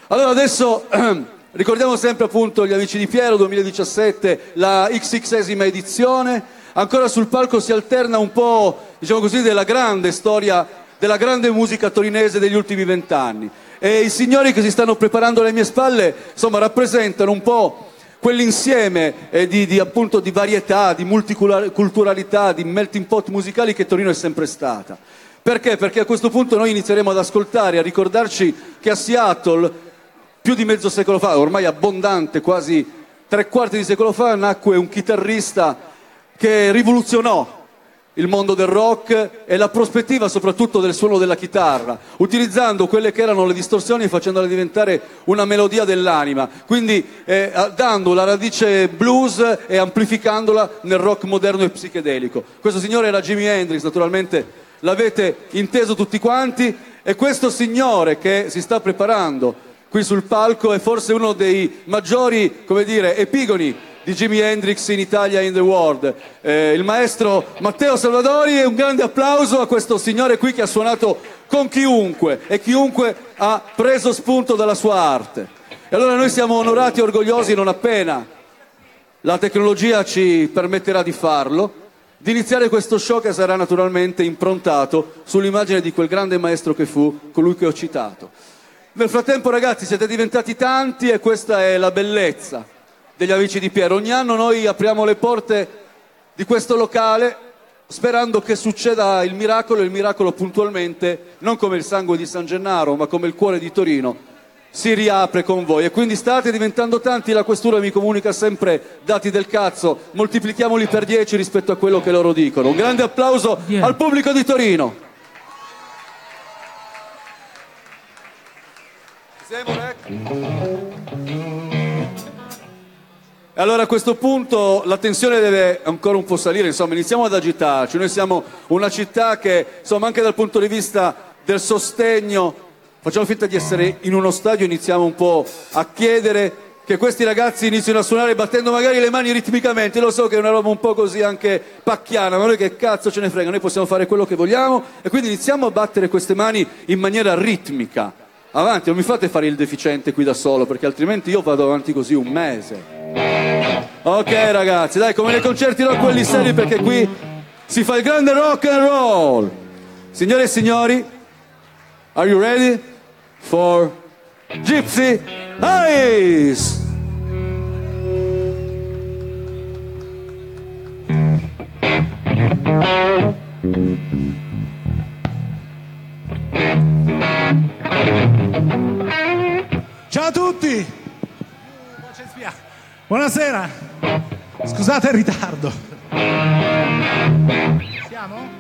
Allora adesso ricordiamo sempre appunto gli Amici di Piero 2017, la XXesima edizione. Ancora sul palco si alterna un po', diciamo così, della grande storia, della grande musica torinese degli ultimi 20 anni. E i signori che si stanno preparando alle mie spalle, insomma, rappresentano un po' quell'insieme appunto di varietà, di multiculturalità, di melting pot musicali che Torino è sempre stata. Perché? Perché a questo punto noi inizieremo ad ascoltare, a ricordarci che a Seattle, più di mezzo secolo fa, ormai abbondante, quasi 3/4 di secolo fa, nacque un chitarrista che rivoluzionò il mondo del rock e la prospettiva soprattutto del suono della chitarra, utilizzando quelle che erano le distorsioni e facendole diventare una melodia dell'anima, quindi dando la radice blues e amplificandola nel rock moderno e psichedelico. Questo signore era Jimi Hendrix, naturalmente l'avete inteso tutti quanti, e questo signore che si sta preparando qui sul palco è forse uno dei maggiori, come dire, epigoni di Jimi Hendrix in Italia e in the world, il maestro Matteo Salvadori. E un grande applauso a questo signore qui che ha suonato con chiunque e chiunque ha preso spunto dalla sua arte. E allora noi siamo onorati e orgogliosi, non appena la tecnologia ci permetterà di farlo, di iniziare questo show che sarà naturalmente improntato sull'immagine di quel grande maestro che fu, colui che ho citato. Nel frattempo, ragazzi, siete diventati tanti e questa è la bellezza degli Amici di Piero. Ogni anno noi apriamo le porte di questo locale sperando che succeda il miracolo, e il miracolo puntualmente, non come il sangue di San Gennaro, ma come il cuore di Torino, si riapre con voi. E quindi state diventando tanti, la questura mi comunica sempre dati del cazzo, moltiplichiamoli per 10 rispetto a quello che loro dicono. Un grande applauso al pubblico di Torino. E allora a questo punto la tensione deve ancora un po' salire, insomma iniziamo ad agitarci. Noi siamo una città che, insomma, anche dal punto di vista del sostegno, facciamo finta di essere in uno stadio, iniziamo un po' a chiedere che questi ragazzi inizino a suonare battendo magari le mani ritmicamente. Lo so che è una roba un po' così anche pacchiana, ma noi che cazzo ce ne frega, noi possiamo fare quello che vogliamo, e quindi iniziamo a battere queste mani in maniera ritmica. Avanti, non mi fate fare il deficiente qui da solo, perché altrimenti io vado avanti così un mese. Ok ragazzi, dai, come nei concerti rock quelli seri, perché qui si fa il grande rock and roll. Signore e signori, are you ready for Gypsy Eyes? Ciao a tutti, buonasera, scusate il ritardo. Siamo?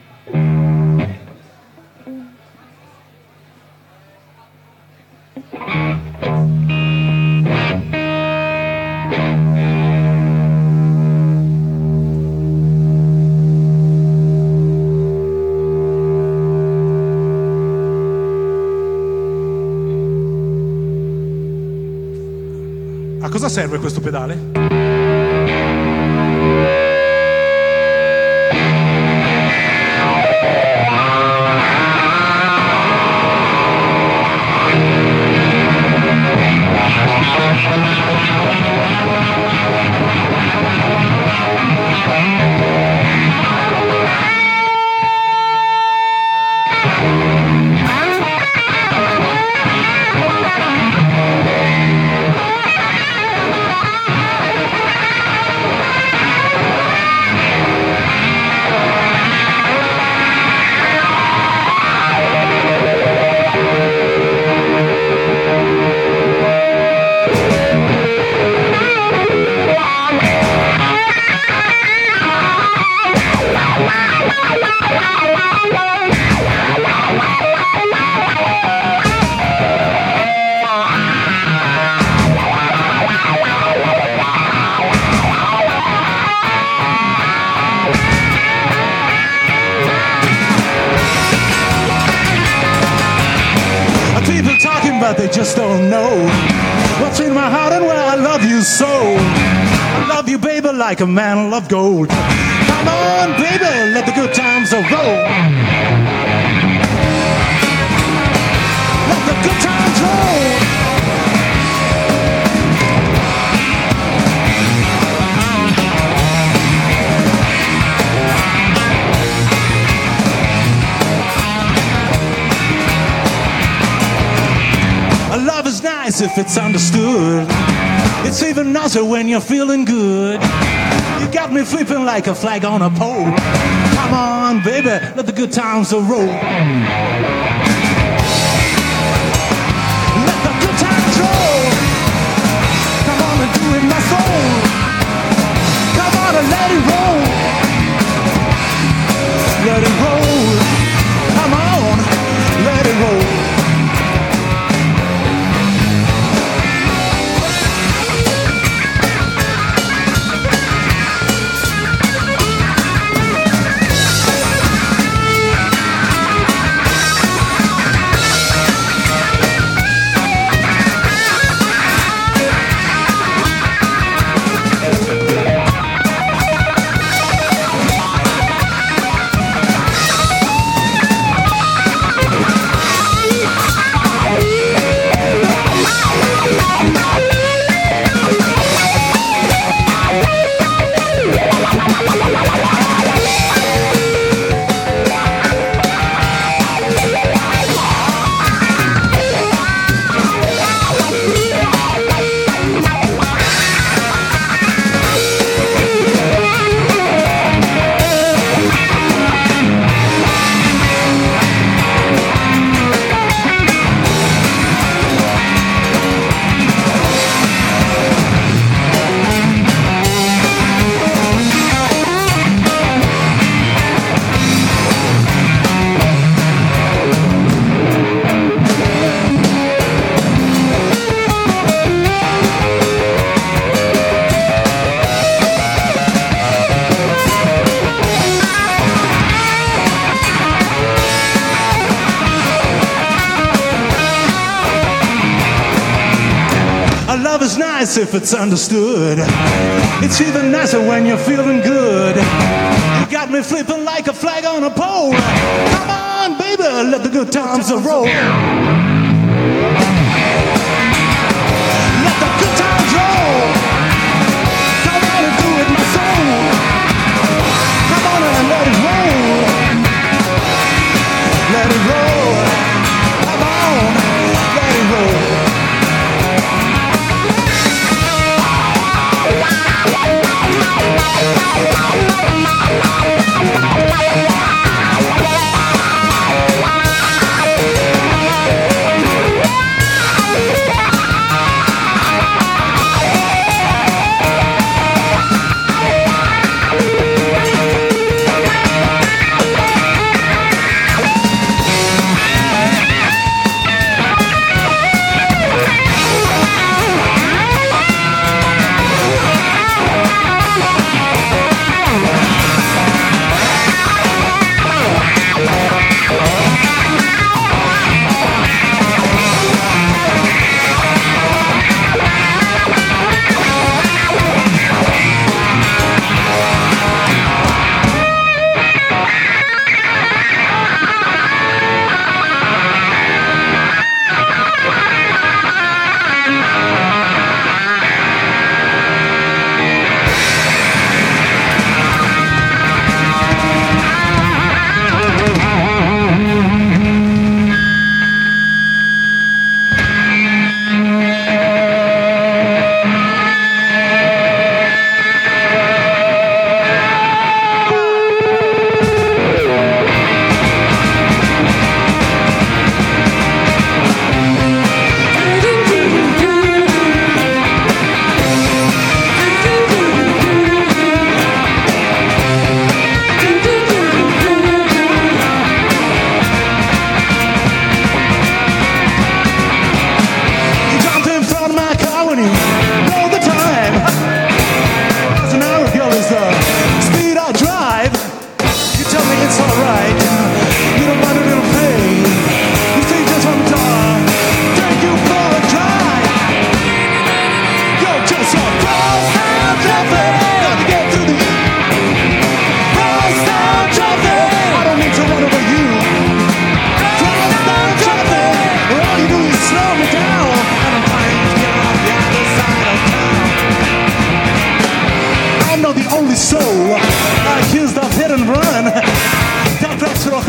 A cosa serve questo pedale? But they just don't know what's in my heart and where I love you so. I love you, baby, like a man love gold. Come on, baby, let the good times roll. Let the good times roll. nice if it's understood. It's even nicer when you're feeling good. You got me flipping like a flag on a pole. Come on, baby, let the good times roll. Let the good times roll. Come on and do it, my soul. Come on and let it roll. Let it roll. Come on, let it roll. If it's understood, it's even nicer when you're feeling good. You got me flipping like a flag on a pole. Come on, baby, let the good times roll. Let the good times roll. Come on and do it, my soul. Come on and let it roll. Let it roll. Come on, let it roll.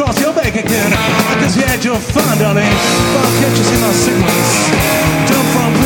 again. I guess you had your fun, darling. But can't you see my sickness? Jump from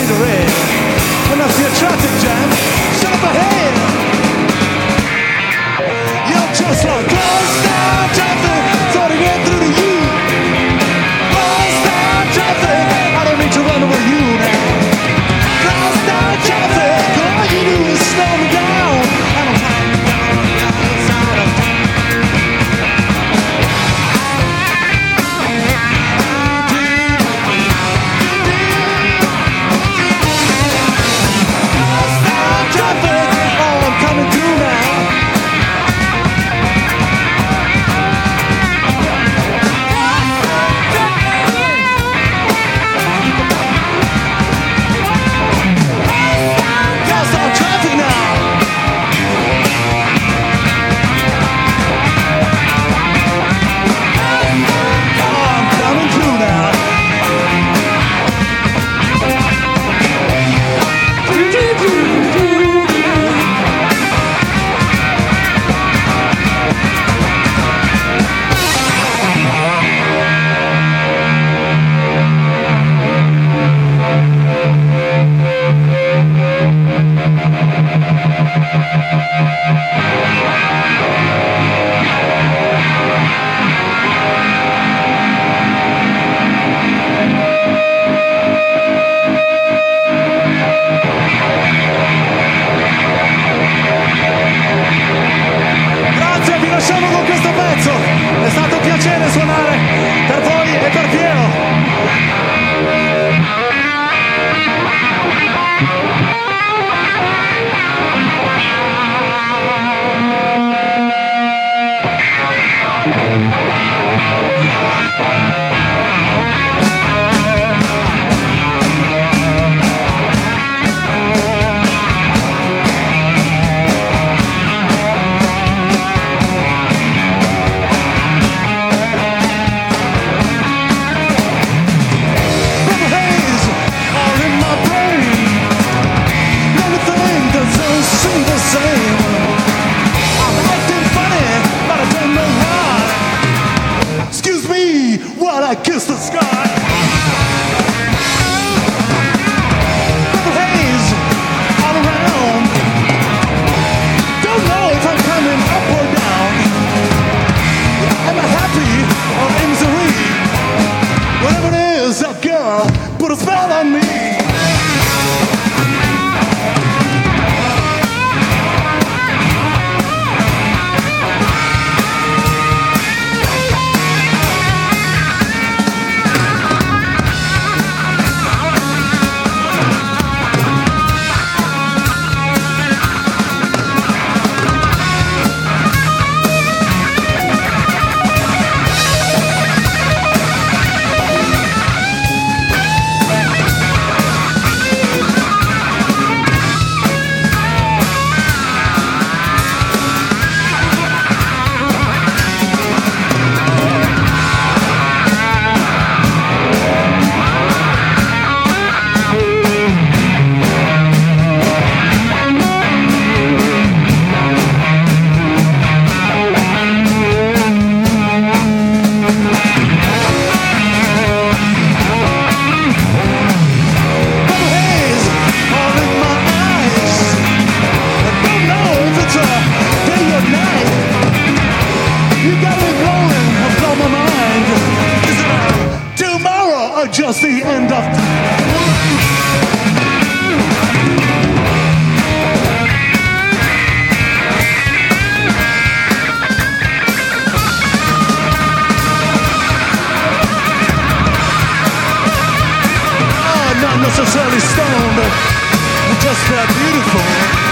totally stoned, but just that beautiful.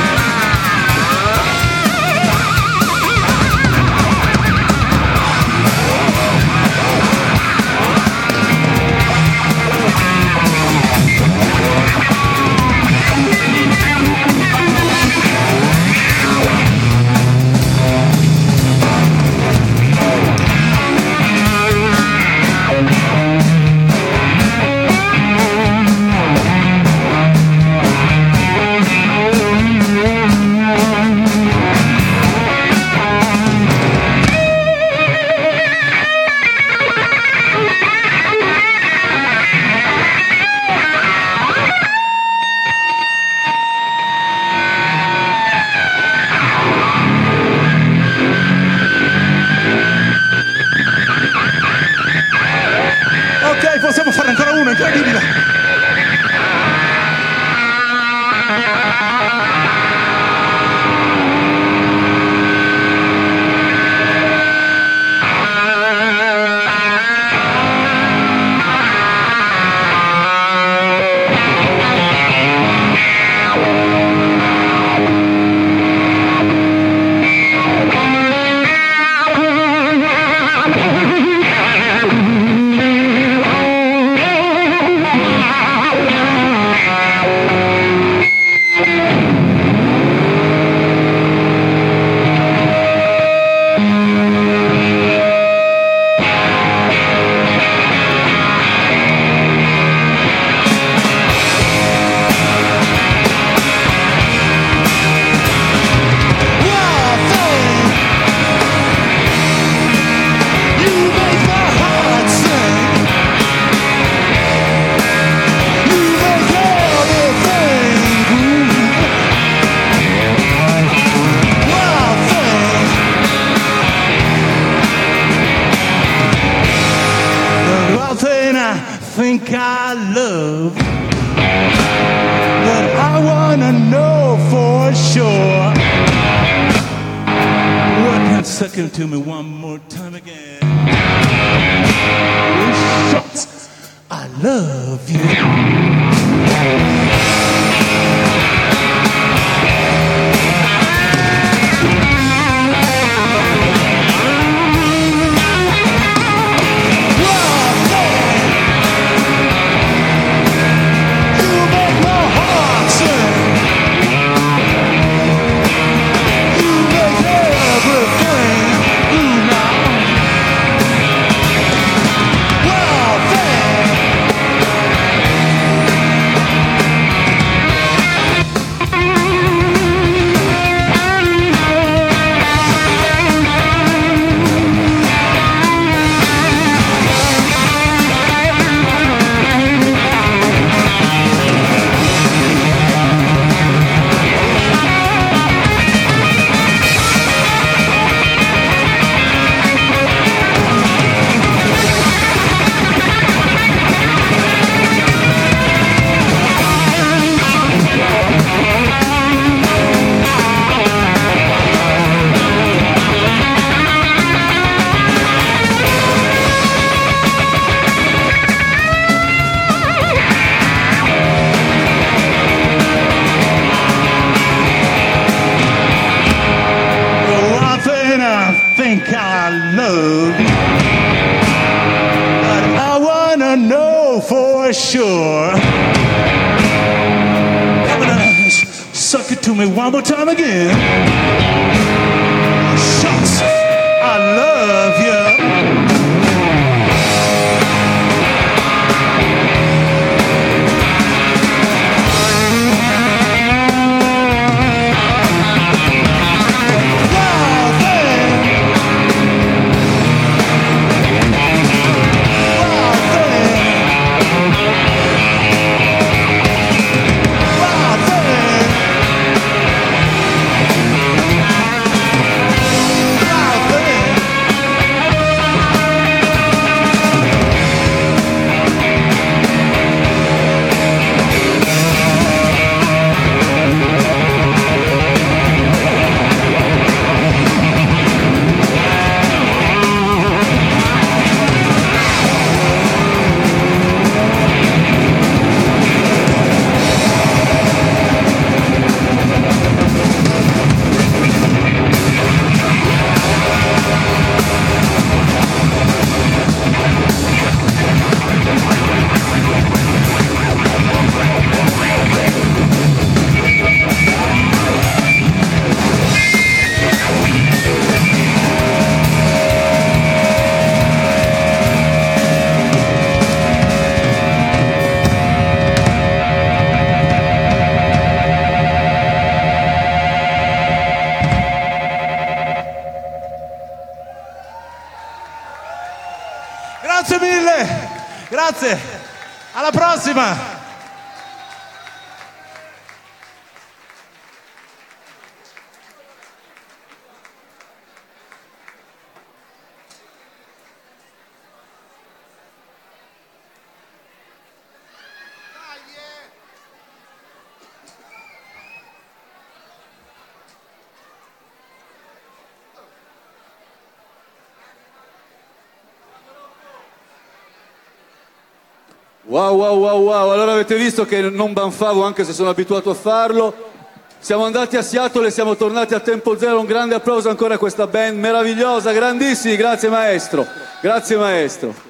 Possiamo fare ancora uno, incredibile! Think I love, but I wanna know for sure. What? Second to me one more time again. Shots, I love you. Sure. Come on, suck it to me one more time again. Shots, I love you. Grazie mille, grazie, alla prossima. Wow, wow, wow, wow, allora avete visto che non banfavo anche se sono abituato a farlo. Siamo andati a Seattle e siamo tornati a tempo zero, un grande applauso ancora a questa band meravigliosa, grandissimi, grazie maestro, grazie maestro.